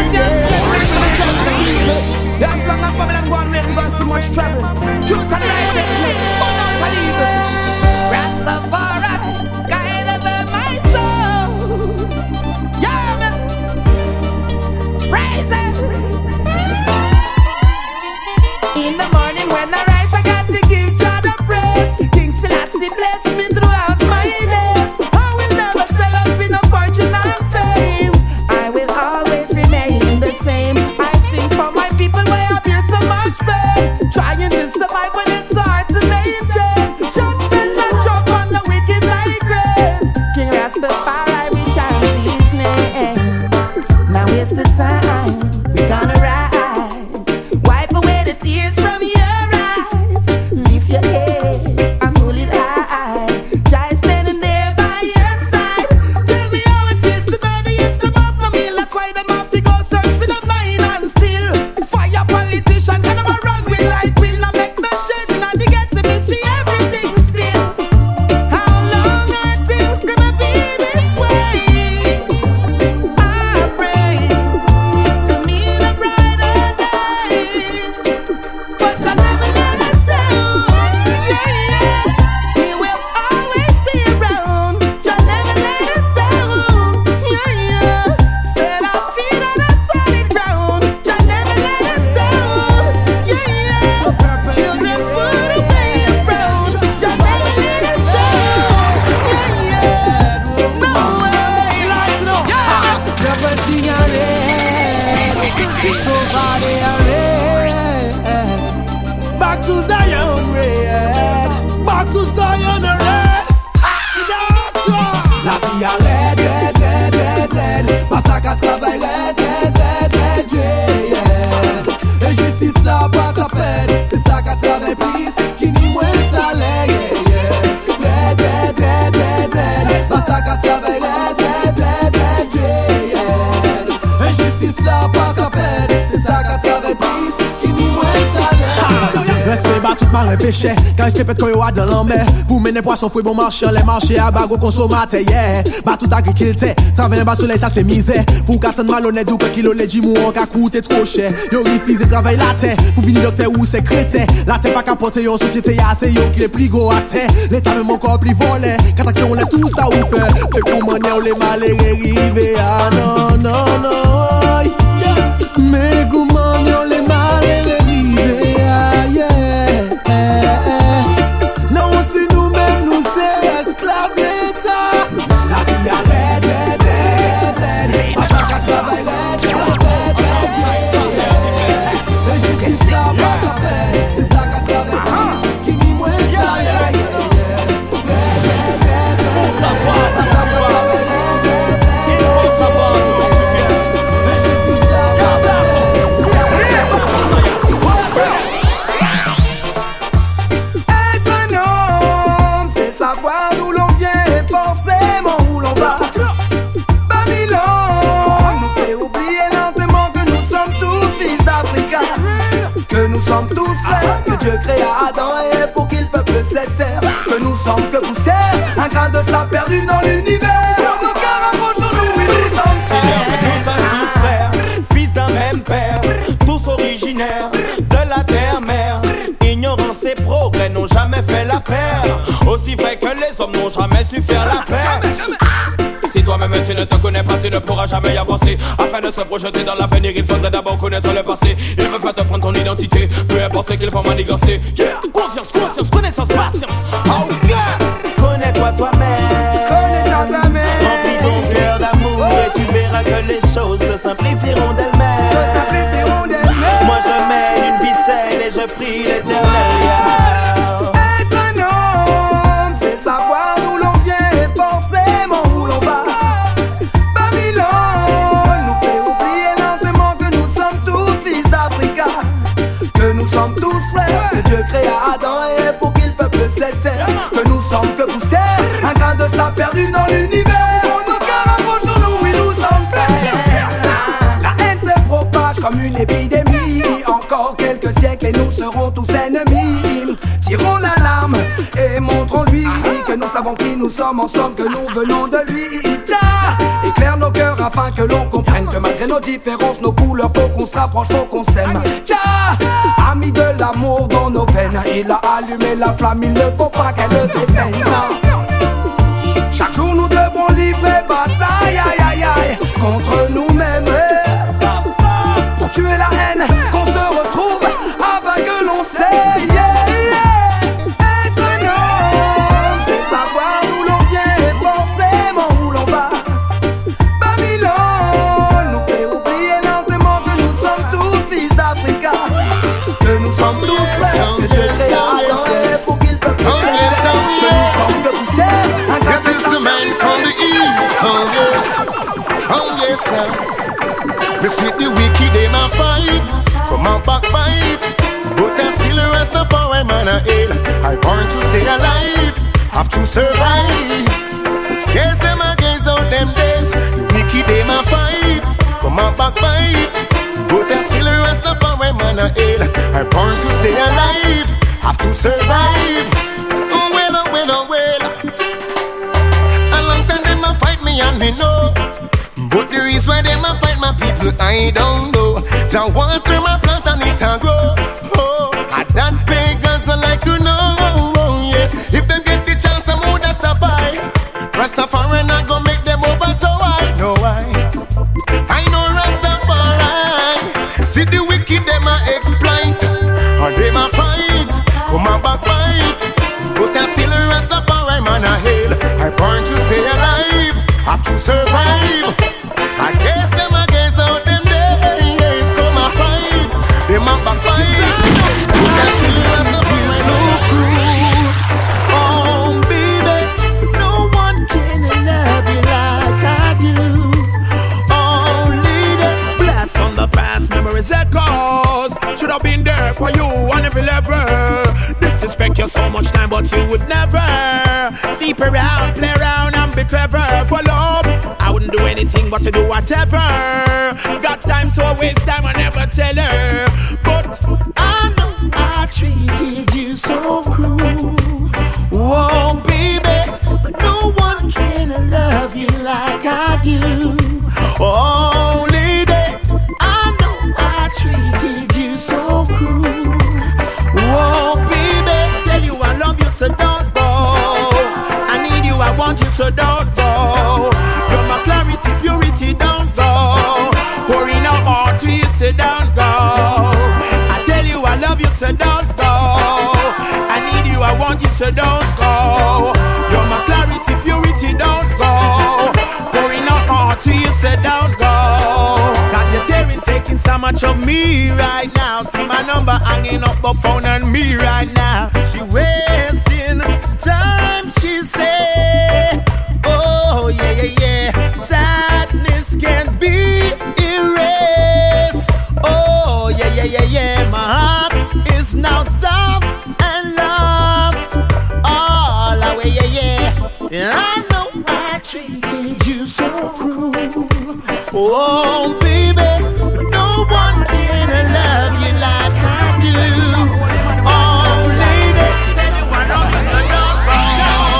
As long as Babylon go on, we ain't gone so much trouble. Truth and righteousness, but not for evil. Rastafari, guide over my soul. Yeah, man. Praise Him. In the morning when I rise, I got to give God the praise. King Selassie bless me throughout my days. I will never sell out for no fortune and fame. I will always remain the same. I sing for my people where I bear so much pain. Trying to survive when it's hard to maintain. Judgment and drop on the wicked like rain. King Rastafari, we chant His name. Now is the time, we're gonna rise. Wipe away the tears from your eyes. Lift your heads and hold it high. Jai standing there by your side. Tell me how it feels to know the hits them off the meal. That's why them have to go search for them lying and still. Fire politician, can them run with light will not make no change. Now they get to me see everything still. How long are things gonna be this way? I pray to meet a brighter day, but shall never let us down. Yeah, He will always be around. Shall never let us down. Yeah. Set our feet on a solid ground. Shall never let us down. Yeah. Children put away the frown. Shall never let us down. Yeah. No way. Lights up. Property are red. Somebody are red. Back to Zion red. Back to Zion red. La vie a red, red, red, red, red. Massacre à travail red, red, red, red, yeah. Et justice là pas qu'à perdre. C'est ça qu'à travail plus qui ni moins salaire, yeah. Red, red, red, red, red. Massacre à travail red, red, red, red, yeah. Et justice là pas qu'à perdre. C'est ça qu'à travail plus qui ni moins salaire. Respect bat tout marin péché. Quand il se répète quand il y a dans la mer. Pour mener poisson fouet bon marché. Les marchés à bago consommateur, yeah. Bat tout agriculteur. Travailler bas soleil ça c'est misère. Pour qu'attend malhonnête ou que kilo les jimou en qu'à coûter trop cher. Yo refuse travail la terre. Pour venir docteur ou secrétaire. La terre pas qu'à porter en société ya c'est yo qui les plus gros à terre. L'état même encore plus volé. Quand action on est tout ça ou fait. Mais comment les malheureux arrivés. Ah non non non. Mais comment les malheureux arrivés. Ah yeah. Non, c'est nous-mêmes, nous c'est esclaves l'État. La vie a red, sommes que poussière, un grain de sable perdu dans l'univers. Nos cœurs approchons-nous, oui, nous sommes frères. Nous sommes tous frères, fils d'un même père, tous originaires de la terre-mère. Ignorance et progrès n'ont jamais fait la paire, aussi vrai que les hommes n'ont jamais su faire la paix. Si toi-même tu ne te connais pas, tu ne pourras jamais y avancer. Afin de se projeter dans l'avenir, il faudrait d'abord connaître le passé. Il me faut te prendre ton identité, peu importe ce qu'il faut manigancer. Yeah, confiance, conscience, connaissance, patience. Oh yeah. Connais-toi toi-même, connais-toi toi-même. Remplis ton cœur d'amour et tu verras que les choses se simplifieront d'elles-mêmes. Se simplifieront d'elles-mêmes. Moi je mets une vie saine et je prie l'Éternel. Être un homme, c'est savoir d'où l'on vient et forcément où l'on va. Babylone nous fait oublier lentement que nous sommes tous fils d'Africa, que nous sommes tous frères, que Dieu créa Adam et pour qu'il peuple cette terre, que nous sommes que poussière, un grain de sable perdu dans l'univers. Nos cœurs approchons-nous, oui nous sommes frères. La haine se propage comme une épidémie. Encore quelques siècles et nous serons tous ennemis. Tirons l'alarme et montrons-lui que nous savons qui nous sommes, en somme que nous venons de lui. Éclaire nos cœurs afin que l'on comprenne que malgré nos différences, nos couleurs, faut qu'on se rapproche, faut qu'on s'aime. A mis de l'amour dans nos veines, il a allumé la flamme, il ne faut pas qu'elle s'éteigne. Chaque jour nous devons livrer bataille, aïe aïe aïe, contre nous-mêmes. Pour tuer la haine, qu'on se retrouve afin que l'on sait. Être un homme, c'est savoir d'où l'on vient et forcément où l'on va. Babylone nous fait oublier lentement que nous sommes tous fils d'Africa, que nous sommes tous frères, que Dieu créa Adam et pour qu'il peut plus que nous sommes que poussière. This is the man from the east, oh yes now. You see the wicked, they might fight, come out backbite, but there's still a rest of our man a ill. I born to stay alive, have to survive. Yes, them against all them days. The wicked, they might fight, come out backbite, but there's still a rest of our man a ill. I born to stay alive, have to survive. Oh well, oh well, oh well. A long time they might fight me and me know. But the reason why them a fight my people, I don't know. Jah water my plant and it a grow. Oh, and that pagans don't like to know. Oh, yes, if them get the chance, some would stop by. Rastafari not go make them over to why? No why? I know Rastafari. See the wicked them a exploit, and them a fight, come a backbite. But I still Rastafari man a hail. I born to stay alive, have to survive. I guess them against all them days, come a fight, them a backbite. But I still Rastafari so cruel. Oh baby, no one can love you like I do. Only the blast from the past memories echoes should have been there for you and every level. Disrespect you so much time, but you would never sleep around, play around, and be clever. For love, I wouldn't do anything but to do whatever. Got time, so I waste time, I never tell her. But I know I treated you so cruel. oh baby, No one can love you like I do. only they. I know I treated you so cruel. Oh baby, Tell you I love you, so don't go. I need you, I want you, so don't go. You're my clarity, purity, don't go. Pouring out more to you, so don't go. I tell you I love you, so don't go. I need you, I want you, so don't go. You're my clarity, purity, don't go. Pouring out more to you, so don't go. Cause you're tearing, taking so much of me right now. See my number hanging up the phone on me right now. She wasting time, she say. Oh yeah, yeah, yeah. Sadness can't be erased. Oh yeah, yeah, yeah, yeah. My heart is now dust and lost. All away, yeah, yeah. I know I treated you so cruel. Oh baby, no one can love you like I do. Oh lady, tell you I love you so don't go.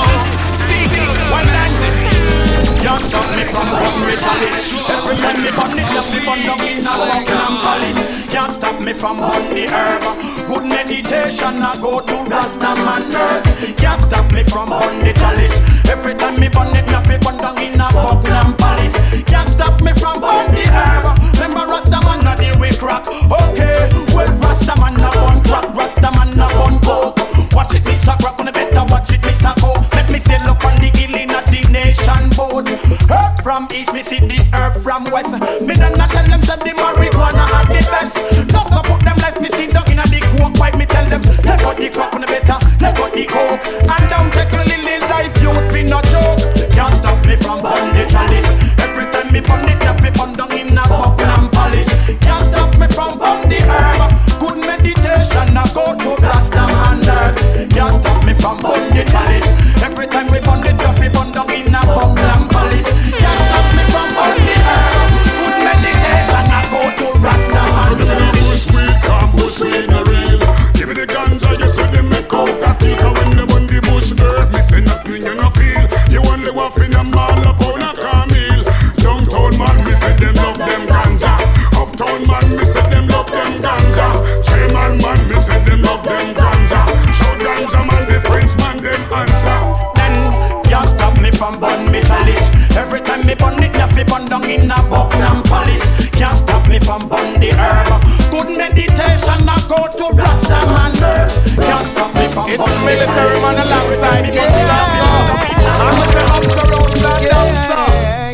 from on the herb. Good meditation I go to Rastaman nerve. Can't stop me from on the chalice. Every time me burn it, me have to burn down in a Buckingham Palace. Can't stop me from on the herb. Remember Rastaman not deal with crack. Okay, well Rastaman a bun crack, Rastaman a bun coke. Watch it, Mr. Crack, on the better watch it, Mr. Coke. Let me sail up on the hill in a the nation boat. Herb from east, me see the herb from west. Me done not tell them that the marijuana are the best. Not to put them like me sit down in a the coke pipe. Me tell them, let go the crack on the better, let go the coke. And down take a little life, youth be no joke. Can't stop me from burn the chalice. Every time me burn it, I burn down in a Buckingham Palace. Can't stop me from burn the herb. Good meditation, I go to Rastaman nerves. Can't stop me from burn the chalice. Every time we burn it, I burn down in a Buckingham Palace. Can't stop me from burn the herb. Good meditation, I go to Rastaman nerves. Bush weed, can't bush weed no real. Give me the ganja, you see them make out a stick. When the burn the bush herb, me say nothing you no feel. You only waff in a mall up on a camel. Downtown man, me say them love them ganja. Uptown man, me say them love them ganja. Chairman man, me say them love them ganja. Show ganja man, the French man, them answer. Then can't stop me from burn me chalice. Every time me burn it, me burn down in a Buckingham Palace. Can't stop me from burn the herb. Good meditation, I go to Rastaman nerves. Can't stop me from burn the chalice. It's military man alongside King Shango. I'm with the ups around and down, sir.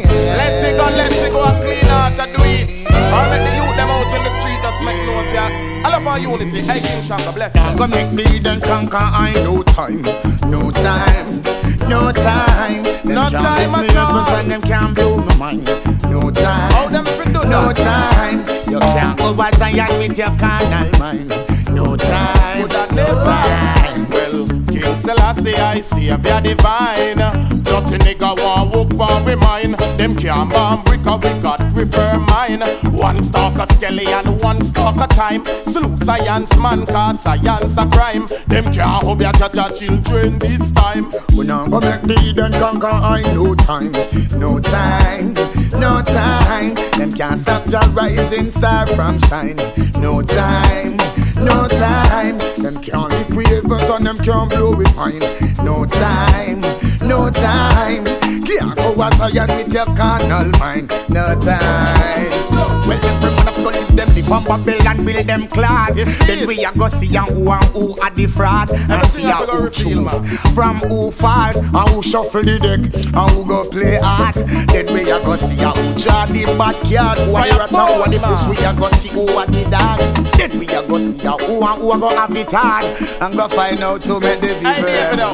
Let it go, and clean out and do it. Or let the youth them out in the street, just make noise, yeah. I love our unity, hey King Shango, bless you. Go make me then conquer, I no time, no time, no time. No time at all. And them can't blow my mind. No time. How them fi do that? No time. You can't go by Zion with your carnal mind. No time. No time. Well, King Selassie, I see if you're divine. Dirty nigga want walk for we mine. Them can't bomb bricker, we got prefer mine. One stalk a skelly and one stalk a time. Salute science man, cause science a crime. Them can't hold your cha-cha children this time. We now go make the then conquer, I no time. No time. No time. Them can't stop your rising star from shine. No time. No time. Them can't liquid us and them can't blow with pine. No time. No time. Can't go as Zion with your carnal mind. No time. Well, everyone have to live them, live on Babylon, build them class. Then we a go see who are the fraud. And see who true from who false, and who shuffle the deck, and who go play hard. Then we a go see who draw the backyard. Who are at all the push, we a go see who are the dog. Then we a go see who a go have it hard, and go find out to make the people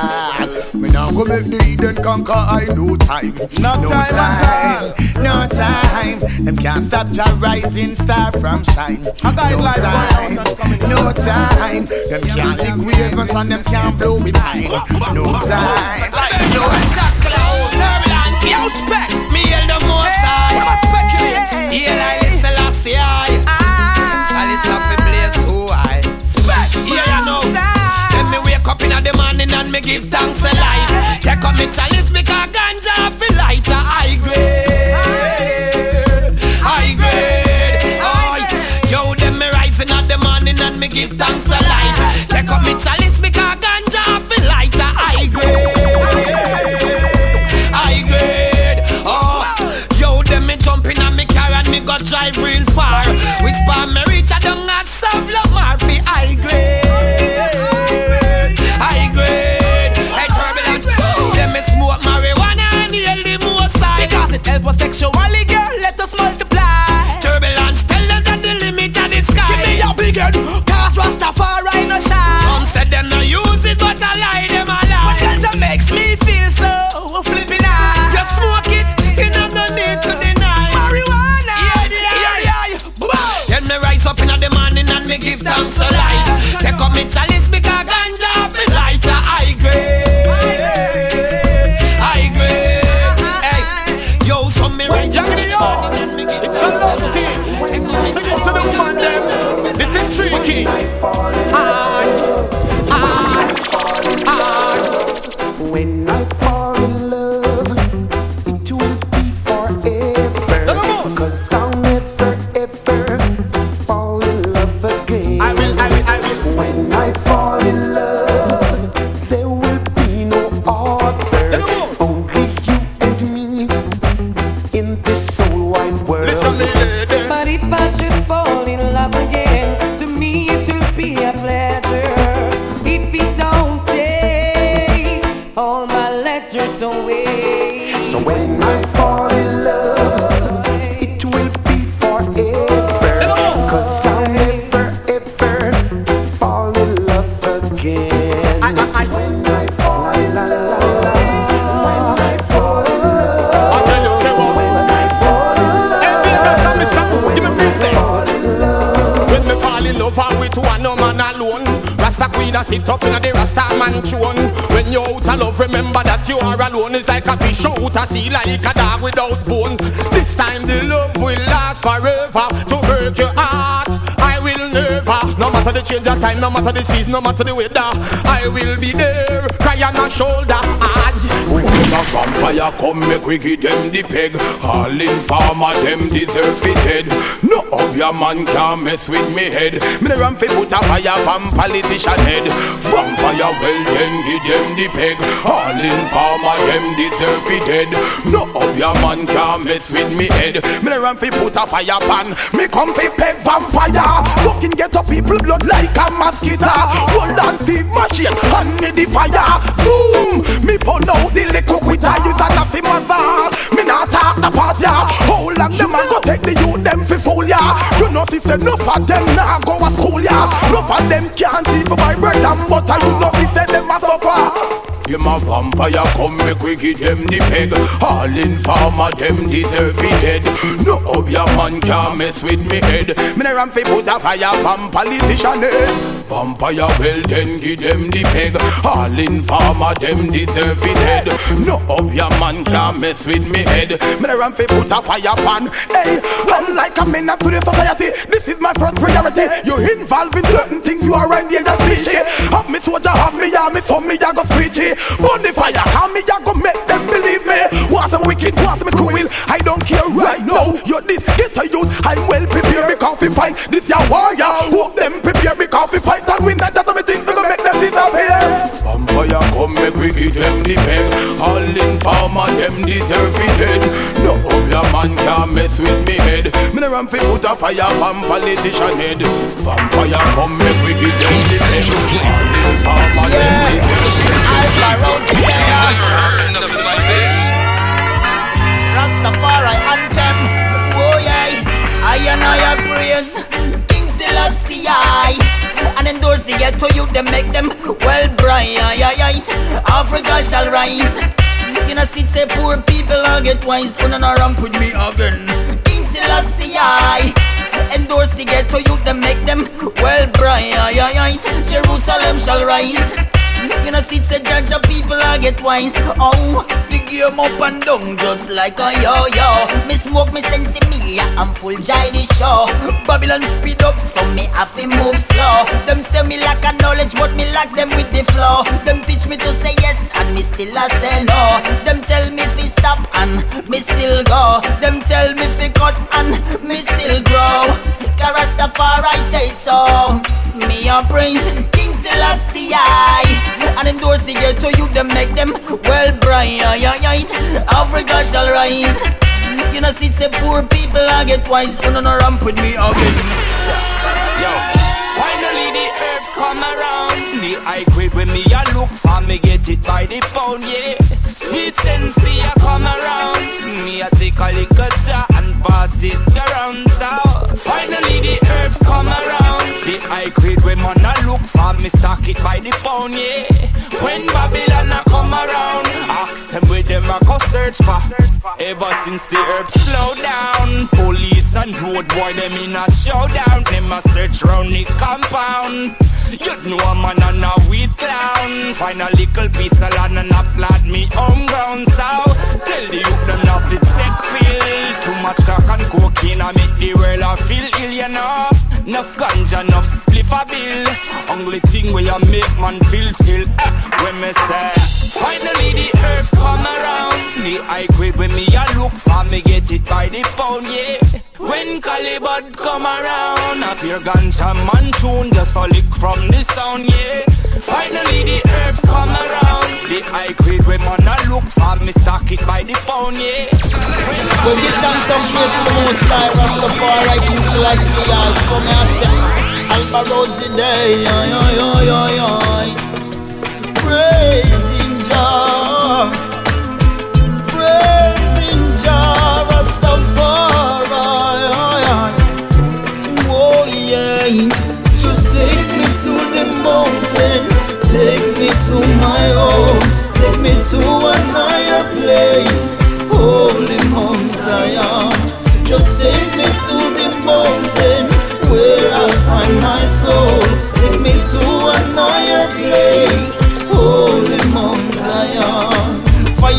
sad. Me now go make the Eden conquer, I no time. No time at all. No time. Them can't stop your rising star from shine. No time. No time. Them can't liquid us and them can't blow with mine. No time. No turbulent. Yo, spec. Me heal the most high. Heal I listen last year. I listen off the place so high. Spec. Yeah, you know. Let me wake up in the morning and me give thanks a life. Take up me chalice because ganja feel lighter. High grade. High grade. Oh, yo, them me rising at the morning and me give thanks a life. Take up me chalice because ganja feel lighter. High grade. High grade. Oh, yo, them me jumping and me car and me go drive real far. Whisper me reach a down a Savla Murphy. High grade. High grade. Hey, turbulent. Them me smoke marijuana and heal the most side. Because it help us sexually, girl. Let us multiply. Turbulence, tell them that the limit of the sky. Give me your big head, cause Rastafari no shine. Some said them no use it, but I lie them a lie. But that makes me feel so flipping high. Just smoke it, you know no need to deny. Marijuana, yeah. Then me rise up in the morning and me give thanks to life. Take up me chalice because ganja feel lighter. High grade, high grade. Hey, yo, some me rise up in the morning and me give thanks to life. Sing it to the woman them. This is tricky. When I fall in love, it will be forever. Cause I'll never ever fall in love meters away. So when I fall in love, it will be forever. Cause I'll never ever fall in love again. When I fall in love, when I fall in love, I'll tell you, say what? When I fall in love, hey, that's how me stop. Give me peace there. When me fall in love, I'm with one no man alone. Rasta queen a sit up in the Rasta man throne. When you're out of love, remember that you are alone. It's like a fish out a sea, like a dog without bone. This time the love will last forever. To hurt your heart, I will never. No matter the change of time, no matter the season, no matter the weather, I will be there, cry on my shoulder. When a vampire come, make we give them the peg. All informer, them deserve it dead. No your man can't mess with me head. Me the ram fi put a fire from politician head. Vampire, well then give them the peg. All informer, them deserve it dead. No your man can't mess with me head. Me the ram fi put a fire pan. Me come fi peg vampire. Fucking get up people blood like a mosquito. Hold on the machine and me the fire. Zoom, me pull out the liquor with a use and nothing mother. Me not talk about ya. How long them man go take the youth them fi fool ya? You know if say enough of them nah go a school ya. Enough of them can't see for my bread and butter. You know if say them a suffer. Him a vampire come make we give them the peg. All informer them deserve it dead. No your man can't mess with me head. Me the ram fi put a fire from politician head. Vampire well then give them the peg. All informer them deserve it dead. No your man can't mess with me head. Me the ram fi put a fire pan. Hey, I'm like a menace to the society. This is my first priority. You're involved in certain things, you are endangered species. Have me soldier, have me army, so me I go preachy. Burn the fire, come me I go make them believe me. Want some wicked, want some cruel, I don't care right now. You're this, get a youth, I'm well prepared because we fight. This your warrior, hope them prepare because we fight and win. That's what me think we gonna make them disappear. Vampire come make we give them the peg. All informer them deserve it dead. No your man can't mess with me head. Me the ram fi put a fire from politician head. Vampire come make we give them the peg. All informer them deserve it dead. Never heard nothing like this. Rastafari anthem. Oh yeah, I and I praise King Selassie and endorse the ghetto youth. Them make them well bright. Africa shall rise. You know, sit say poor people will get wise. Gonna no ramp with me again. King Selassie endorse the ghetto youth. Them make them well bright. Jerusalem shall rise. You know, sit say judge of people will get wise. Oh, the game up and down just like a yo-yo. Me smoke me sense me, I'm full jai the show. Babylon speed up, so me have to move slow. Them say me lack a knowledge, but me lack them with the flow. Them teach me to say yes, and me still a say no. Them tell me fi stop, and me still go. Them tell me fi cut, and me still grow. Rastafari say so. Me a praise King Selassie and endorse the ghetto youth. Them make them well bright. Africa shall rise. You know, see say poor people I get wise. You know, no ramp with me again. Yo, finally the herbs come around. The high grade when me a look for me get it by the pound, yeah. Sweet sensei a come around. Me a take a little jar and pass it around. So finally the herbs come around. The high grade when man a look for me stock it by the pound, yeah. When Babylon a come around, ask them where them a go search for. Ever since the herbs slow down, police and road boy them in a showdown. Them a search round the compound. You know a man and a weed clown. Find a little piece of land and a flat me home ground. So tell the youth them not fit set pill. Too much crack and cocaine I make the world a feel ill, you know. Enough ganja, enough spliff a bill. Only thing where you make man feel still. When me say finally the herbs come around. The high grade when me a look for me get it by the pound, yeah. When Calibut come around, a pure ganja man tune just a lick from the sound, yeah. Finally the herbs come around. The high grade when man a look for me stock it by the pound, yeah. Go get down some place to the most high. Rastafari King Selassie. So me a say Alba Rosy Day. Praising Jah.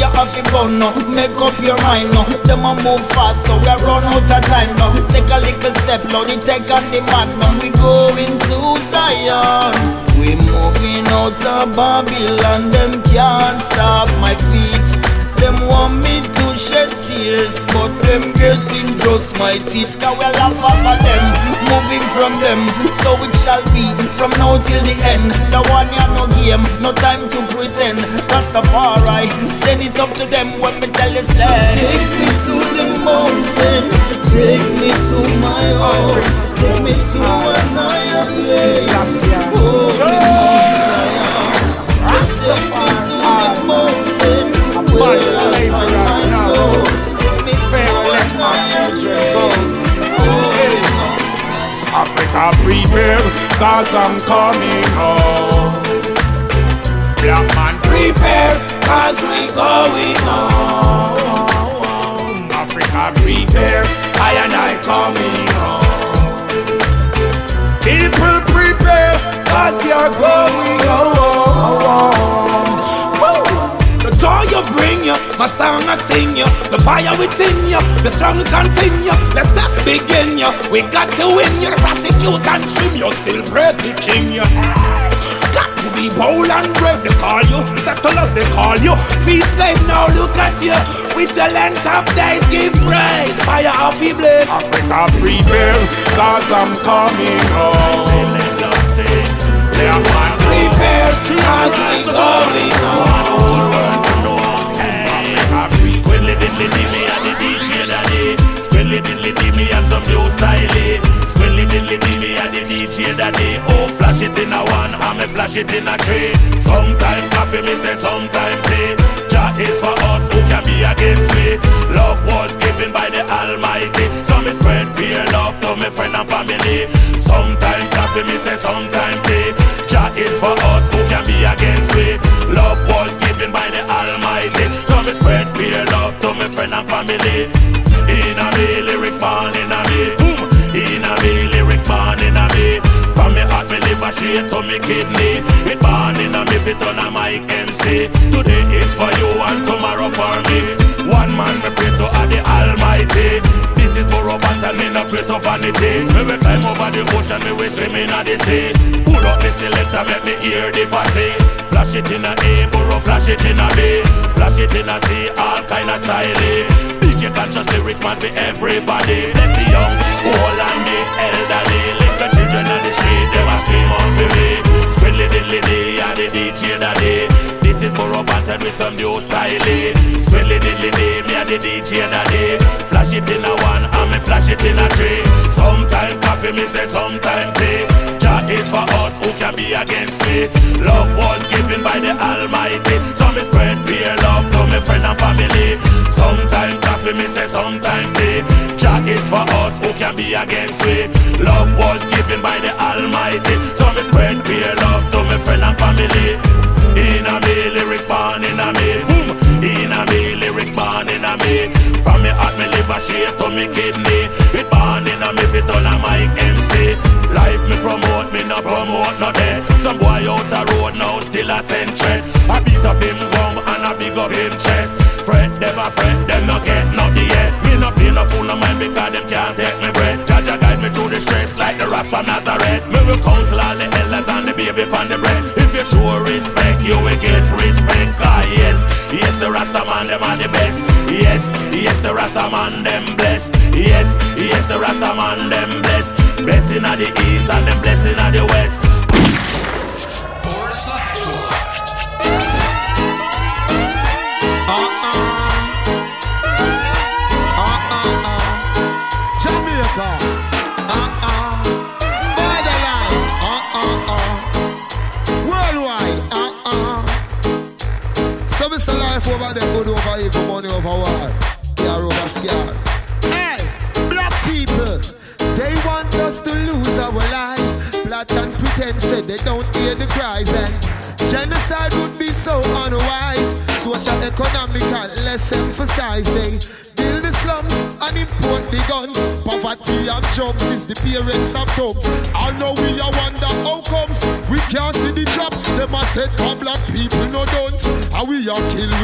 you have to burn now. Make up your mind now. Them a move fast, so we run out of time now. Take a little step, Lord, take on the magnum. We going to Zion. We moving out of Babylon. Them can't stop my feet. Them want me to shed tears, but them getting just my teeth. Cause we laugh off of them, moving from them. So it shall be from now till the end. The one ya no game, no time to pretend. Rastafari, send it up to them when me tell you say, take me to the mountain, take me to my house, take me to an higher place. Oh, just take me to the mountain. Where I find my soul. Fair let my children go. Africa prepare, cause I'm coming home. Black man prepare, cause we going home. Africa prepare, I and I coming home. People prepare, cause you're going home. The joy you bring you, my song I sing you. The fire within you, the struggle continue. Let us begin you, we got to win you. The prosecute and trim you, still praise the king you. Got to be bold and brave, they call you. Settlers, they call you. Free slave, now look at you. With the length of days, give praise. Fire of the blaze. Africa prepare, cause I'm coming home. They are one prepare, cause I'm coming home. Squilly diddly dimmy and the DJ daddy. Squilly diddly dimmy and some new style. Squilly diddly dimmy and the DJ daddy. Oh, flash it in a one, and me flash it in a three. Sometime coffee, me say sometime tea. Jah is for us, who can be against me? Love was given by the Almighty, so me spread fear love to me friend and family. Sometime coffee, me say sometime tea. Jah is for us, who can be against me? Love was given by the Almighty, so me spread fear love to me friend and family. In a me lyrics born in a me. In a me lyrics born in a me. From me heart me liver straight to me kidney. It born in a me fit on a mic MC. Today is for you and tomorrow for me. One man me pray to the Almighty. This is Burro Battle, me no pray to vanity. Me we climb over the ocean, me we swim in the sea. Pull up the selector, make me hear the party. Flash it in a A, Burro flash it in a B. Flash it in a C, all kind of style. DJ conscious lyrics man for everybody. Bless the young, old and the elderly. Little children on the street, they must scream out for me. Squidly diddly dee, and the DJ daddy. This is Burro Battle with some new style. Squidly diddly dee, me and the DJ daddy. Flash it in a one, and me flash it in a three. Sometime coffee, me say sometime tea. Jah is for us, who can be against me? Love was given by the Almighty, so me spread fear love to me friend and family. Sometime coffee, me say sometime tea. Jah is for us, who can be against me? Love was given by the Almighty, so me spread fear love to me friend and family. In a me lyrics born in a me. In a me lyrics born in a me. From me heart me liver straight to me kidney. It born in a me fit on a mic MC. Life me promote, me no promote no day. Some boy out the road now still a century. I beat up him gum and I big up him chest. Fret them a fret, them no get nothing yet. Me no play no fool no mind because them can't take me breath. Jah guide me through the stress like the Ras from Nazareth. Me will counsel all the elders and the baby on the breast. If you show respect, you will get respect. Ah yes, yes the Rasta man them are the best. Yes, yes the Rasta man them blessed. Yes, yes the Rasta man them blessed. Blessing at the east and them blessing at the west. Boris the Actual. Jamaica. Motherland. Worldwide. So it's a life over there, good over evil, money over war. Yeah, over scar. Hey, black people. They want us to lose our lives. Plot and pretend said they don't hear the cries. And genocide would be so unwise. Social economical, less emphasized. They build the slums and import the guns. Poverty and jobs is the parents of thugs. I know we are wonder how comes we can't see the trap. Them a set for black people no dunce. And we are kill we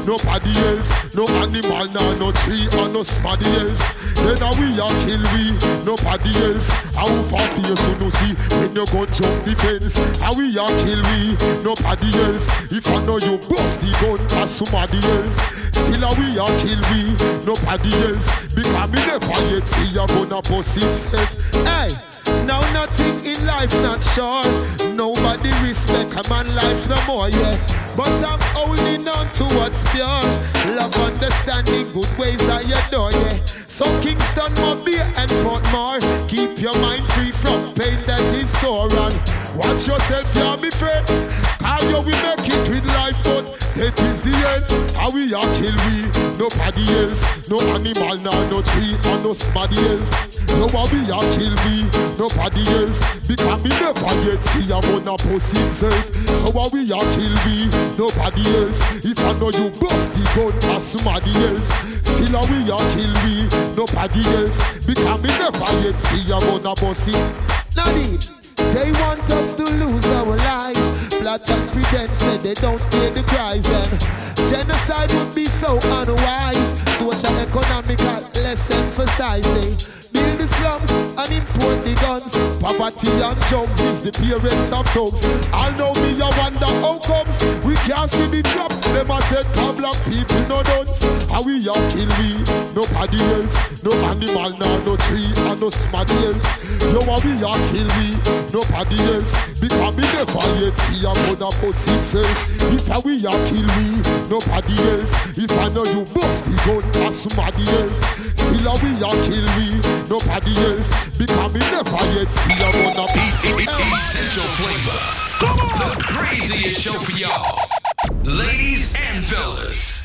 nobody else. No animal, no tree, or no somebody else. Then we a kill we, nobody else. How far fear so no see when you go jump the fence. How we a kill we, nobody else. If I know you bust the gun as somebody else. Still we a kill we, nobody else. Because me never yet see you gonna bust itself. Hey, now nothing in life not sure. Nobody respect a man life no more, yeah. But I'm holding on to what's pure. Love, understanding, good ways I adore, yeah. So Kingston, Mobile and Portmore, keep your mind free from pain that is sore. And watch yourself, yeah, me friend. How you we make it with life, but that is the end. How we are kill we, nobody else. No animal, no tree, or no somebody else. No how we are kill we, nobody else. Because me never yet see a wanna post itself. So how we are kill we, nobody else. If I know you bust the gun as somebody else. Still how we are kill we, nobody else. Because me never yet see a wanna post it. Nadine, they want us to lose our lives. Plot and pretend say they don't hear the cries. And genocide would be so unwise. Social economical less emphasized. They build the slums and import the guns. Poverty and drugs is the parents of thugs. I know me I wonder how comes we can't see the drop. Them a said black people no dunce. How we a kill we, nobody else. No animal, no tree, and no somebody else. No how we a kill we, nobody else. Because me never yet see a mother post itself. If I we a kill we, nobody else. If I know you bust the gun as somebody else. Still a we a kill we, nobody else. Because me never yet see a mother Essential Flavor, the craziest show for y'all, ladies and fellas.